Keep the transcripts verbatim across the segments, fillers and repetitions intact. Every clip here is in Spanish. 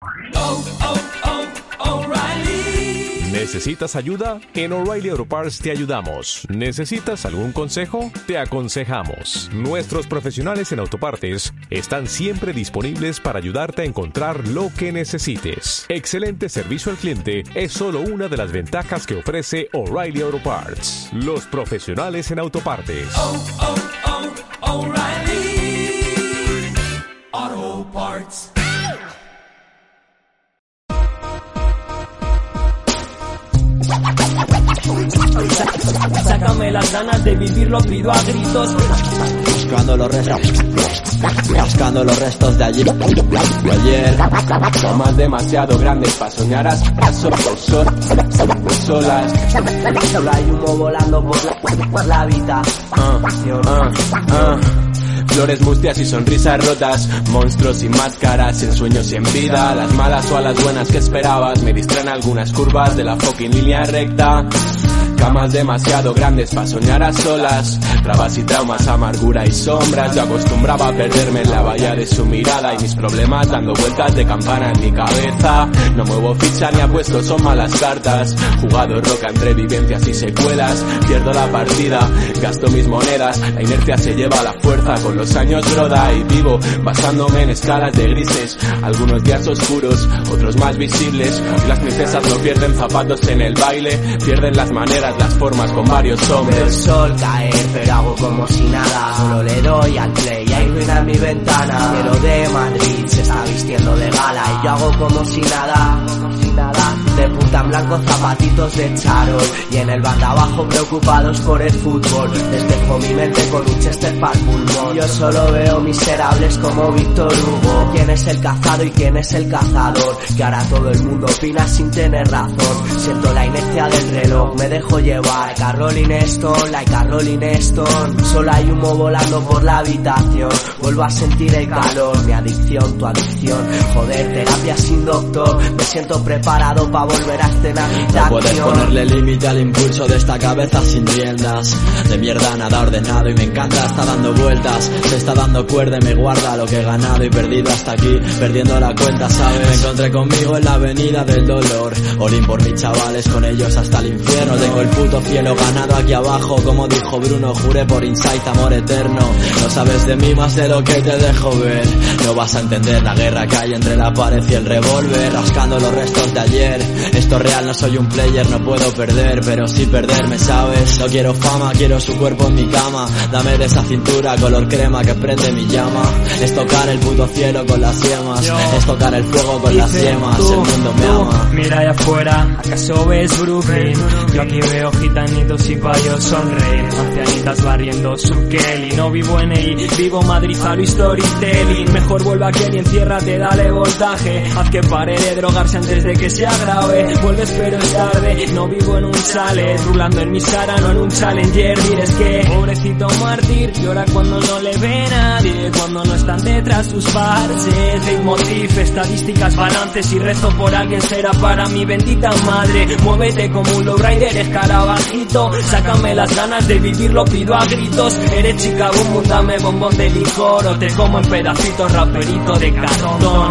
Oh, oh, oh, O'Reilly. ¿Necesitas ayuda? En O'Reilly Auto Parts te ayudamos. ¿Necesitas algún consejo? Te aconsejamos. Nuestros profesionales en autopartes están siempre disponibles para ayudarte a encontrar lo que necesites. Excelente servicio al cliente es solo una de las ventajas que ofrece O'Reilly Auto Parts. Los profesionales en autopartes. Oh, oh, oh, O'Reilly Auto Parts. Sácame las ganas de vivir, lo pido a gritos. Buscando los restos, buscando los restos de allí, de ayer. Tomas demasiado grandes para soñar a solas. Solo hay humo volando por la, por la habitación. Uh, uh, uh. Flores mustias y sonrisas rotas, monstruos sin máscaras, en sueños y en vida. Las malas o a las buenas que esperabas me distraen algunas curvas de la fucking línea recta. Camas demasiado grandes para soñar a solas, trabas y traumas, amargura y sombras. Yo acostumbraba a perderme en la valla de su mirada y mis problemas dando vueltas de campana en mi cabeza. No muevo ficha ni apuesto, son malas cartas. Jugado roca entre vivencias y secuelas. Pierdo la partida, gasto mis monedas. La inercia se lleva la fuerza, con los años broda. Y vivo basándome en escalas de grises. Algunos días oscuros, otros más visibles. Y las princesas no pierden zapatos en el baile, pierden las maneras, las formas con varios hombres. Veo el sol caer, pero hago como si nada. Solo le doy al play y hay ruina en mi ventana. Cielo de Madrid se está vistiendo de gala y yo hago como si nada, como si nada. De punta en blanco, zapatitos de charol y en el banda abajo preocupados por el fútbol. Despejo mi mente con un Chester pa'l pulmón. Yo solo veo miserables como Víctor Hugo. ¿Quién es el cazado y quién es el cazador? Que ahora todo el mundo opina sin tener razón. Siento la inercia del reloj, me dejo llevar. Rolling Stone, like a Rolling Stone. Solo hay humo volando por la habitación. Vuelvo a sentir el calor, mi adicción, tu adicción. Joder, terapia sin doctor. Me siento preparado pa' volver a escenar mi acción. No puedes ponerle límite al impulso de esta cabeza sin riendas. De mierda nada ordenado y me encanta, está dando vueltas. Se está dando cuerda y me guarda lo que he ganado y perdido hasta aquí, perdiendo la cuenta, ¿sabes? Me encontré conmigo en la avenida del dolor. Olín por mis chavales, con ellos hasta el infierno. Tengo el puto cielo ganado aquí abajo, como dijo Bruno, juré por Insight amor eterno. No sabes de mí más de lo que te dejo ver. No vas a entender la guerra que hay entre la pared y el revólver, rascando los restos de ayer. Esto es real, no soy un player, no puedo perder, pero sí perderme, ¿sabes? No quiero fama, quiero su cuerpo en mi cama. Dame de esa cintura color crema que prende mi llama. Es tocar el puto cielo con las yemas, es tocar el fuego con las yemas. El mundo me ama. Mira allá afuera, ¿acaso ves Brooklyn? Yo aquí veo gitanitos y payos sonreír, ancianitas barriendo su Kelly. No vivo en E I, vivo Madrid, Halo Storytelling. Mejor vuelve aquí y enciérrate, dale voltaje. Haz que pare de drogarse antes de que se agrave. Vuelves pero es tarde, no vivo en un chalet, rulando en mi Sara, no en un Challenger. Mires que, pobrecito mártir, llora cuando no le ve nadie, cuando no están detrás sus parches. Leitmotiv, estadísticas, balances y rezo por alguien será para mi bendita madre. Muévete como un lowrider, escarabajito. Sácame las ganas de vivir, lo pido a gritos. Eres chica, boom, boom, dame bombón de licor o te como en pedacitos, raperito de cartón.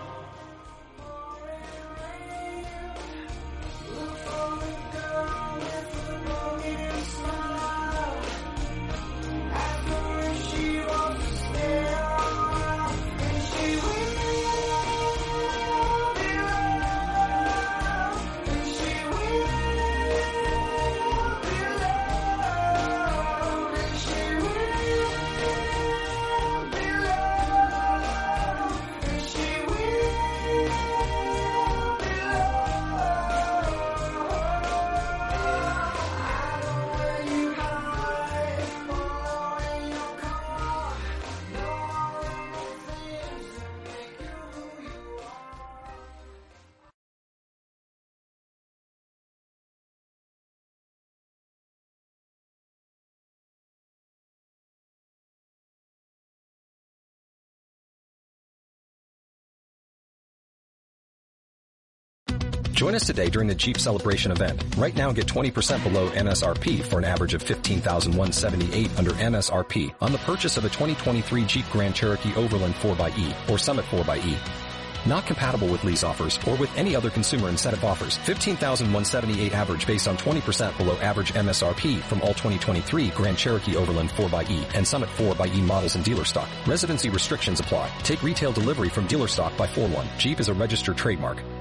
Join us today during the Jeep Celebration event. Right now, get twenty percent below M S R P for an average of fifteen thousand one hundred seventy-eight dollars under M S R P on the purchase of a twenty twenty-three Jeep Grand Cherokee Overland four by E or Summit four by E. Not compatible with lease offers or with any other consumer incentive offers. fifteen thousand one hundred seventy-eight average based on twenty percent below average M S R P from all twenty twenty-three Grand Cherokee Overland four by E and Summit four by E models in dealer stock. Residency restrictions apply. Take retail delivery from dealer stock by four one. Jeep is a registered trademark.